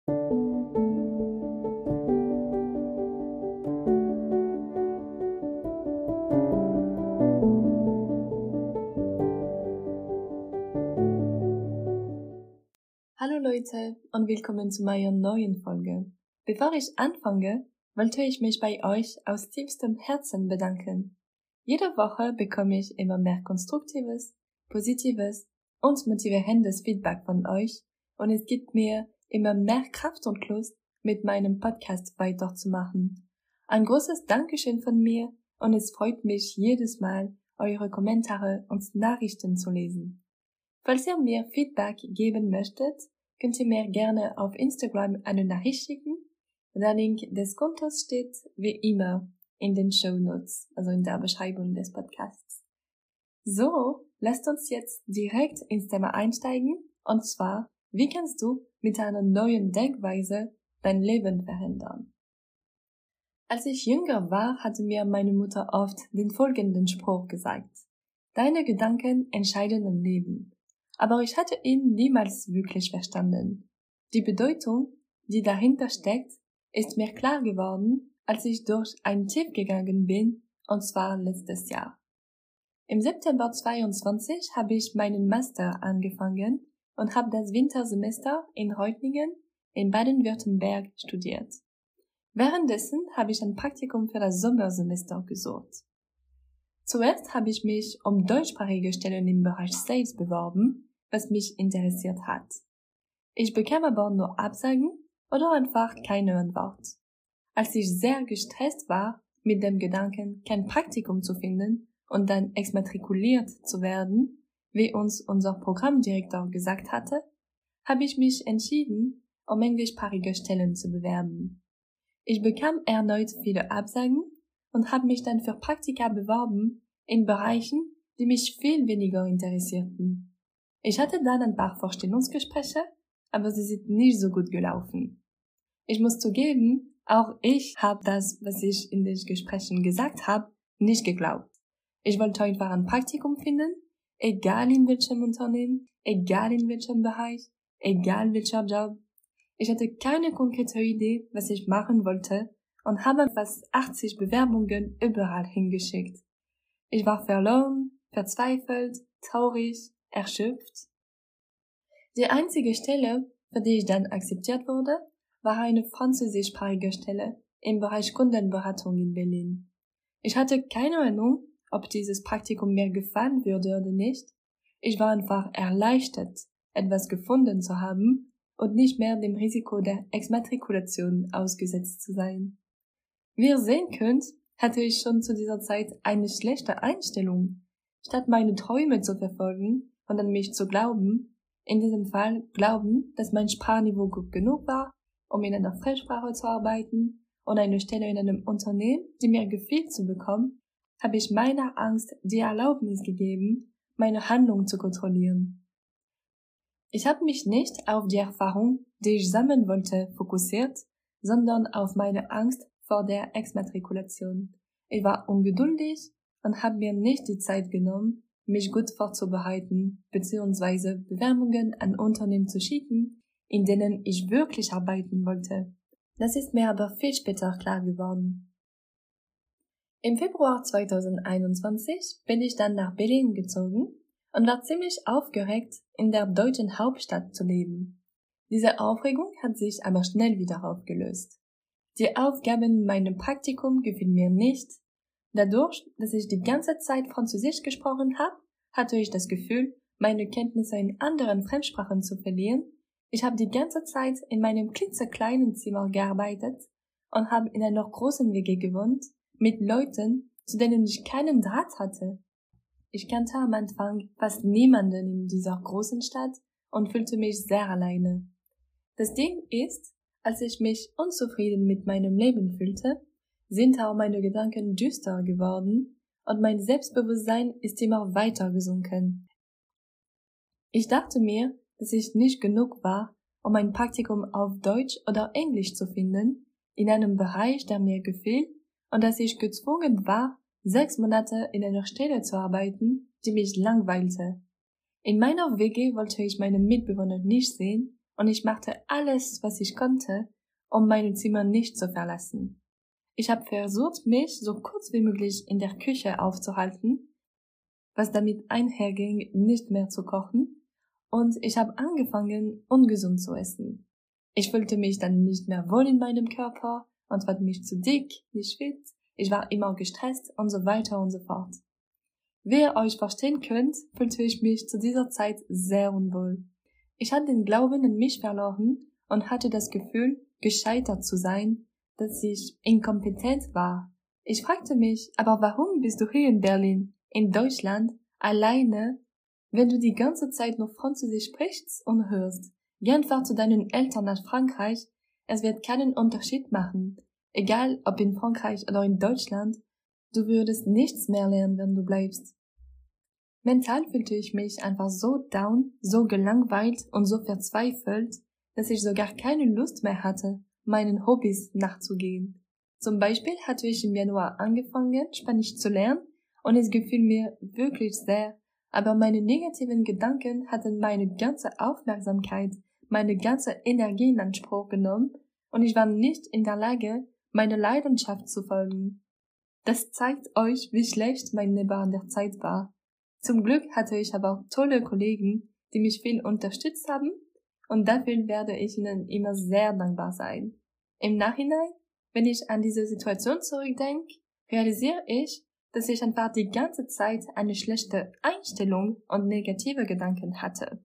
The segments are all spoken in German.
Hallo Leute und willkommen zu meiner neuen Folge. Bevor ich anfange, wollte ich mich bei euch aus tiefstem Herzen bedanken. Jede Woche bekomme ich immer mehr konstruktives, positives und motivierendes Feedback von euch und es gibt mir immer mehr Kraft und Lust, mit meinem Podcast weiterzumachen. Ein großes Dankeschön von mir und es freut mich jedes Mal, eure Kommentare und Nachrichten zu lesen. Falls ihr mir Feedback geben möchtet, könnt ihr mir gerne auf Instagram eine Nachricht schicken. Der Link des Kontos steht wie immer in den Shownotes, also in der Beschreibung des Podcasts. So, lasst uns jetzt direkt ins Thema einsteigen, und zwar, wie kannst du mit einer neuen Denkweise dein Leben verändern? Als ich jünger war, hatte mir meine Mutter oft den folgenden Spruch gesagt: Deine Gedanken entscheiden dein Leben. Aber ich hatte ihn niemals wirklich verstanden. Die Bedeutung, die dahinter steckt, ist mir klar geworden, als ich durch ein Tief gegangen bin, und zwar letztes Jahr. Im September 22 habe ich meinen Master angefangen und habe das Wintersemester in Reutlingen in Baden-Württemberg studiert. Währenddessen habe ich ein Praktikum für das Sommersemester gesucht. Zuerst habe ich mich um deutschsprachige Stellen im Bereich Sales beworben, was mich interessiert hat. Ich bekam aber nur Absagen oder einfach keine Antwort. Als ich sehr gestresst war, mit dem Gedanken, kein Praktikum zu finden und dann exmatrikuliert zu werden, wie uns unser Programmdirektor gesagt hatte, habe ich mich entschieden, um englischsprachige Stellen zu bewerben. Ich bekam erneut viele Absagen und habe mich dann für Praktika beworben in Bereichen, die mich viel weniger interessierten. Ich hatte dann ein paar Vorstellungsgespräche, aber sie sind nicht so gut gelaufen. Ich muss zugeben, auch ich habe das, was ich in den Gesprächen gesagt habe, nicht geglaubt. Ich wollte einfach ein Praktikum finden, egal in welchem Unternehmen, egal in welchem Bereich, egal welcher Job. Ich hatte keine konkrete Idee, was ich machen wollte und habe fast 80 Bewerbungen überall hingeschickt. Ich war verloren, verzweifelt, traurig, erschöpft. Die einzige Stelle, für die ich dann akzeptiert wurde, war eine französischsprachige Stelle im Bereich Kundenberatung in Berlin. Ich hatte keine Ahnung, ob dieses Praktikum mir gefallen würde oder nicht. Ich war einfach erleichtert, etwas gefunden zu haben und nicht mehr dem Risiko der Exmatrikulation ausgesetzt zu sein. Wie ihr sehen könnt, hatte ich schon zu dieser Zeit eine schlechte Einstellung. Statt meine Träume zu verfolgen und an mich zu glauben, in diesem Fall glauben, dass mein Sprachniveau gut genug war, um in einer Fremdsprache zu arbeiten und eine Stelle in einem Unternehmen, die mir gefiel, zu bekommen, habe ich meiner Angst die Erlaubnis gegeben, meine Handlung zu kontrollieren. Ich habe mich nicht auf die Erfahrung, die ich sammeln wollte, fokussiert, sondern auf meine Angst vor der Exmatrikulation. Ich war ungeduldig und habe mir nicht die Zeit genommen, mich gut vorzubereiten bzw. Bewerbungen an Unternehmen zu schicken, in denen ich wirklich arbeiten wollte. Das ist mir aber viel später klar geworden. Im Februar 2021 bin ich dann nach Berlin gezogen und war ziemlich aufgeregt, in der deutschen Hauptstadt zu leben. Diese Aufregung hat sich aber schnell wieder aufgelöst. Die Aufgaben in meinem Praktikum gefielen mir nicht. Dadurch, dass ich die ganze Zeit Französisch gesprochen habe, hatte ich das Gefühl, meine Kenntnisse in anderen Fremdsprachen zu verlieren. Ich habe die ganze Zeit in meinem klitzekleinen Zimmer gearbeitet und habe in einer großen WG gewohnt, mit Leuten, zu denen ich keinen Draht hatte. Ich kannte am Anfang fast niemanden in dieser großen Stadt und fühlte mich sehr alleine. Das Ding ist, als ich mich unzufrieden mit meinem Leben fühlte, sind auch meine Gedanken düster geworden und mein Selbstbewusstsein ist immer weiter gesunken. Ich dachte mir, dass ich nicht genug war, um ein Praktikum auf Deutsch oder Englisch zu finden, in einem Bereich, der mir gefiel, und dass ich gezwungen war, 6 Monate in einer Stelle zu arbeiten, die mich langweilte. In meiner WG wollte ich meine Mitbewohner nicht sehen und ich machte alles, was ich konnte, um mein Zimmer nicht zu verlassen. Ich habe versucht, mich so kurz wie möglich in der Küche aufzuhalten, was damit einherging, nicht mehr zu kochen, und ich habe angefangen, ungesund zu essen. Ich fühlte mich dann nicht mehr wohl in meinem Körper und fand mich zu dick, nicht fit, ich war immer gestresst und so weiter und so fort. Wie ihr euch verstehen könnt, fühlte ich mich zu dieser Zeit sehr unwohl. Ich hatte den Glauben an mich verloren und hatte das Gefühl, gescheitert zu sein, dass ich inkompetent war. Ich fragte mich, aber warum bist du hier in Berlin, in Deutschland, alleine, wenn du die ganze Zeit nur Französisch sprichst und hörst? Geh einfach zu deinen Eltern nach Frankreich, es wird keinen Unterschied machen. Egal ob in Frankreich oder in Deutschland, du würdest nichts mehr lernen, wenn du bleibst. Mental fühlte ich mich einfach so down, so gelangweilt und so verzweifelt, dass ich sogar keine Lust mehr hatte, meinen Hobbys nachzugehen. Zum Beispiel hatte ich im Januar angefangen, Spanisch zu lernen und es gefiel mir wirklich sehr, aber meine negativen Gedanken hatten meine ganze Aufmerksamkeit, meine ganze Energie in Anspruch genommen und ich war nicht in der Lage, meine Leidenschaft zu folgen. Das zeigt euch, wie schlecht mein Leben an der Zeit war. Zum Glück hatte ich aber auch tolle Kollegen, die mich viel unterstützt haben und dafür werde ich ihnen immer sehr dankbar sein. Im Nachhinein, wenn ich an diese Situation zurückdenke, realisiere ich, dass ich einfach die ganze Zeit eine schlechte Einstellung und negative Gedanken hatte.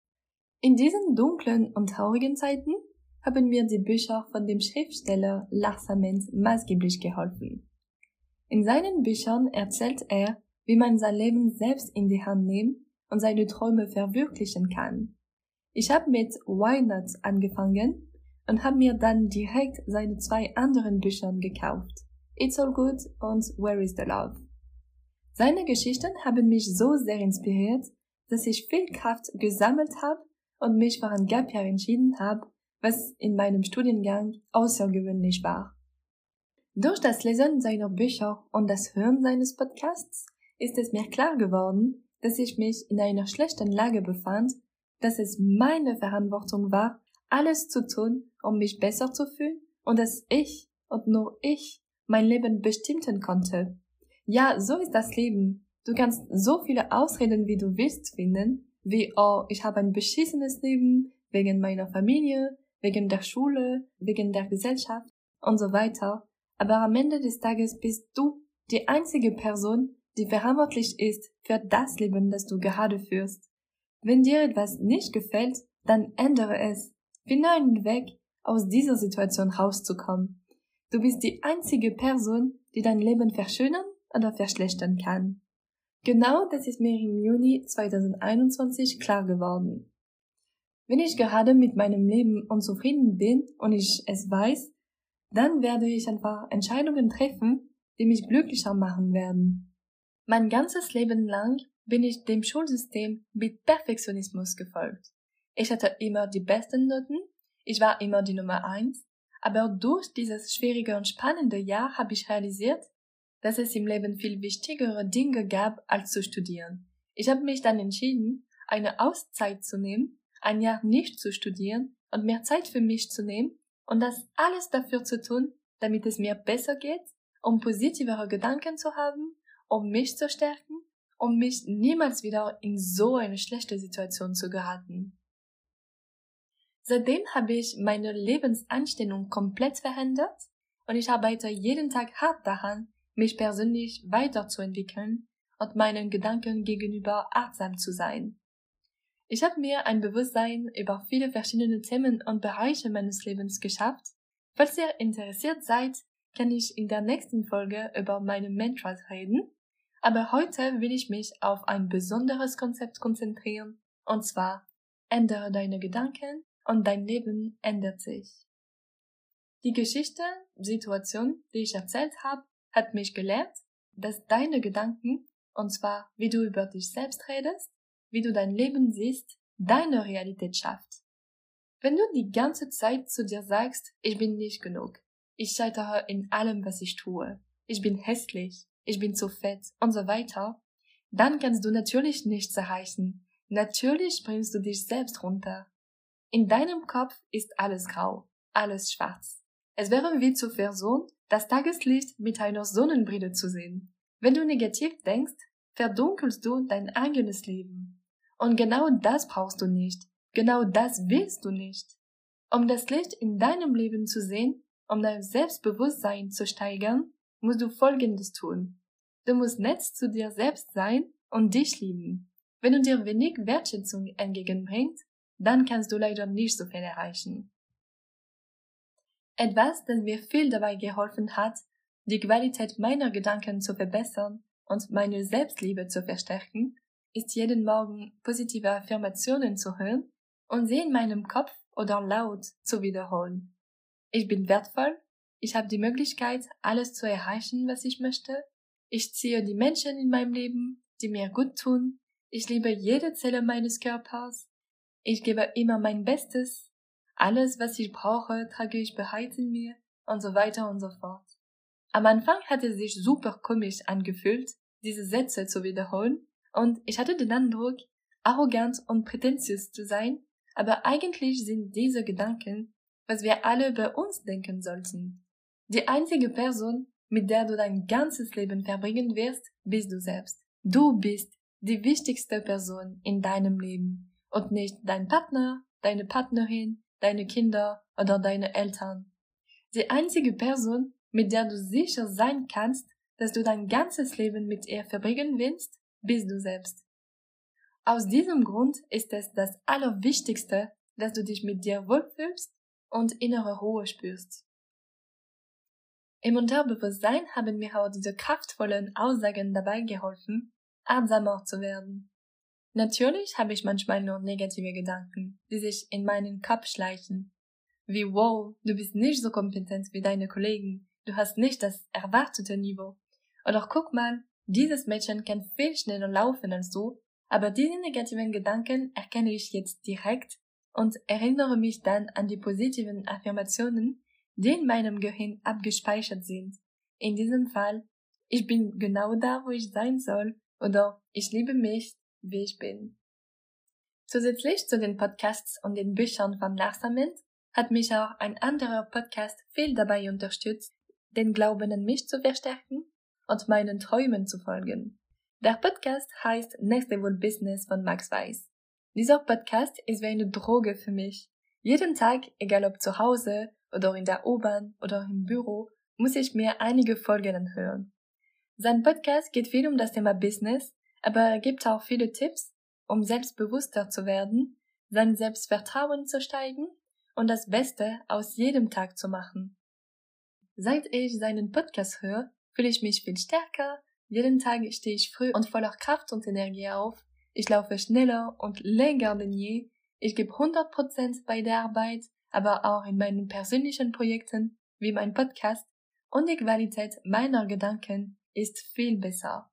In diesen dunklen und traurigen Zeiten haben mir die Bücher von dem Schriftsteller Lars Ament maßgeblich geholfen. In seinen Büchern erzählt er, wie man sein Leben selbst in die Hand nehmen und seine Träume verwirklichen kann. Ich habe mit Why Not angefangen und habe mir dann direkt seine 2 anderen Bücher gekauft, It's All Good und Where is the Love. Seine Geschichten haben mich so sehr inspiriert, dass ich viel Kraft gesammelt habe und mich für ein Gap Year entschieden habe, was in meinem Studiengang außergewöhnlich war. Durch das Lesen seiner Bücher und das Hören seines Podcasts ist es mir klar geworden, dass ich mich in einer schlechten Lage befand, dass es meine Verantwortung war, alles zu tun, um mich besser zu fühlen und dass ich und nur ich mein Leben bestimmen konnte. Ja, so ist das Leben. Du kannst so viele Ausreden, wie du willst, finden, wie, oh, ich habe ein beschissenes Leben, wegen meiner Familie, wegen der Schule, wegen der Gesellschaft und so weiter. Aber am Ende des Tages bist du die einzige Person, die verantwortlich ist für das Leben, das du gerade führst. Wenn dir etwas nicht gefällt, dann ändere es. Finde einen Weg, aus dieser Situation rauszukommen. Du bist die einzige Person, die dein Leben verschönern oder verschlechtern kann. Genau das ist mir im Juni 2021 klar geworden. Wenn ich gerade mit meinem Leben unzufrieden bin und ich es weiß, dann werde ich einfach Entscheidungen treffen, die mich glücklicher machen werden. Mein ganzes Leben lang bin ich dem Schulsystem mit Perfektionismus gefolgt. Ich hatte immer die besten Noten, ich war immer die Nummer 1, aber durch dieses schwierige und spannende Jahr habe ich realisiert, dass es im Leben viel wichtigere Dinge gab, als zu studieren. Ich habe mich dann entschieden, eine Auszeit zu nehmen, ein Jahr nicht zu studieren und mehr Zeit für mich zu nehmen und das alles dafür zu tun, damit es mir besser geht, um positivere Gedanken zu haben, um mich zu stärken, um mich niemals wieder in so eine schlechte Situation zu geraten. Seitdem habe ich meine Lebenseinstellung komplett verändert und ich arbeite jeden Tag hart daran, mich persönlich weiterzuentwickeln und meinen Gedanken gegenüber achtsam zu sein. Ich habe mir ein Bewusstsein über viele verschiedene Themen und Bereiche meines Lebens geschafft. Falls ihr interessiert seid, kann ich in der nächsten Folge über meine Mantras reden, aber heute will ich mich auf ein besonderes Konzept konzentrieren, und zwar: ändere deine Gedanken und dein Leben ändert sich. Die Geschichte, Situation, die ich erzählt habe, hat mich gelehrt, dass deine Gedanken, und zwar wie du über dich selbst redest, wie du dein Leben siehst, deine Realität schafft. Wenn du die ganze Zeit zu dir sagst, ich bin nicht genug, ich scheitere in allem, was ich tue, ich bin hässlich, ich bin zu fett und so weiter, dann kannst du natürlich nichts erreichen. Natürlich bringst du dich selbst runter. In deinem Kopf ist alles grau, alles schwarz. Es wäre wie zu versuchen, das Tageslicht mit einer Sonnenbrille zu sehen. Wenn du negativ denkst, verdunkelst du dein eigenes Leben. Und genau das brauchst du nicht. Genau das willst du nicht. Um das Licht in deinem Leben zu sehen, um dein Selbstbewusstsein zu steigern, musst du Folgendes tun. Du musst nett zu dir selbst sein und dich lieben. Wenn du dir wenig Wertschätzung entgegenbringst, dann kannst du leider nicht so viel erreichen. Etwas, das mir viel dabei geholfen hat, die Qualität meiner Gedanken zu verbessern und meine Selbstliebe zu verstärken, ist jeden Morgen positive Affirmationen zu hören und sie in meinem Kopf oder laut zu wiederholen. Ich bin wertvoll, ich habe die Möglichkeit, alles zu erreichen, was ich möchte, ich ziehe die Menschen in meinem Leben, die mir gut tun, ich liebe jede Zelle meines Körpers, ich gebe immer mein Bestes, alles, was ich brauche, trage ich bereits in mir und so weiter und so fort. Am Anfang hat es sich super komisch angefühlt, diese Sätze zu wiederholen, und ich hatte den Eindruck, arrogant und prätentiös zu sein, aber eigentlich sind diese Gedanken, was wir alle bei uns denken sollten. Die einzige Person, mit der du dein ganzes Leben verbringen wirst, bist du selbst. Du bist die wichtigste Person in deinem Leben und nicht dein Partner, deine Partnerin, deine Kinder oder deine Eltern. Die einzige Person, mit der du sicher sein kannst, dass du dein ganzes Leben mit ihr verbringen willst, bist du selbst. Aus diesem Grund ist es das Allerwichtigste, dass du dich mit dir wohlfühlst und innere Ruhe spürst. Im Unterbewusstsein haben mir auch diese kraftvollen Aussagen dabei geholfen, achtsamer zu werden. Natürlich habe ich manchmal nur negative Gedanken, die sich in meinen Kopf schleichen. Wie wow, du bist nicht so kompetent wie deine Kollegen, du hast nicht das erwartete Niveau. Oder guck mal, dieses Mädchen kann viel schneller laufen als du, aber diese negativen Gedanken erkenne ich jetzt direkt und erinnere mich dann an die positiven Affirmationen, die in meinem Gehirn abgespeichert sind. In diesem Fall, ich bin genau da, wo ich sein soll, oder ich liebe mich, wie ich bin. Zusätzlich zu den Podcasts und den Büchern von Lars Ament hat mich auch ein anderer Podcast viel dabei unterstützt, den Glauben an mich zu verstärken und meinen Träumen zu folgen. Der Podcast heißt Next Level Business von Max Weiss. Dieser Podcast ist wie eine Droge für mich. Jeden Tag, egal ob zu Hause oder in der U-Bahn oder im Büro, muss ich mir einige Folgen anhören. Sein Podcast geht viel um das Thema Business, aber er gibt auch viele Tipps, um selbstbewusster zu werden, sein Selbstvertrauen zu steigen und das Beste aus jedem Tag zu machen. Seit ich seinen Podcast höre, fühle ich mich viel stärker, jeden Tag stehe ich früh und voller Kraft und Energie auf, ich laufe schneller und länger denn je, ich gebe 100% bei der Arbeit, aber auch in meinen persönlichen Projekten, wie mein Podcast, und die Qualität meiner Gedanken ist viel besser.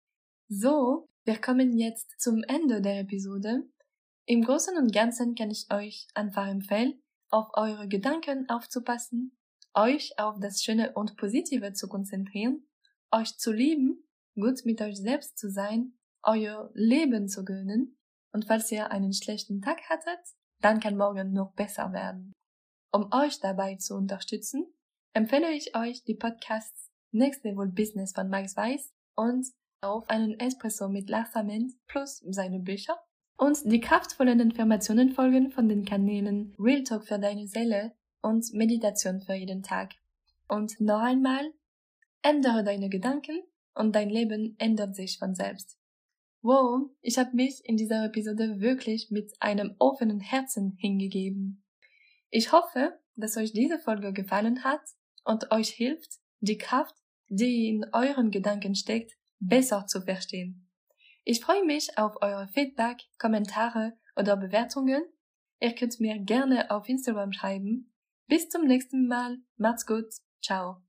So, wir kommen jetzt zum Ende der Episode. Im Großen und Ganzen kann ich euch einfach empfehlen, auf eure Gedanken aufzupassen, euch auf das Schöne und Positive zu konzentrieren, euch zu lieben, gut mit euch selbst zu sein, euer Leben zu gönnen, und falls ihr einen schlechten Tag hattet, dann kann morgen noch besser werden. Um euch dabei zu unterstützen, empfehle ich euch die Podcasts Next Level Business von Max Weiss und auf einen Espresso mit Lars Ament plus seine Bücher und die kraftvollen Informationenfolgen von den Kanälen Real Talk für deine Seele und Meditation für jeden Tag. Und noch einmal, ändere deine Gedanken und dein Leben ändert sich von selbst. Wow, ich habe mich in dieser Episode wirklich mit einem offenen Herzen hingegeben. Ich hoffe, dass euch diese Folge gefallen hat und euch hilft, die Kraft, die in euren Gedanken steckt, besser zu verstehen. Ich freue mich auf eure Feedback, Kommentare oder Bewertungen. Ihr könnt mir gerne auf Instagram schreiben. Bis zum nächsten Mal. Macht's gut. Ciao.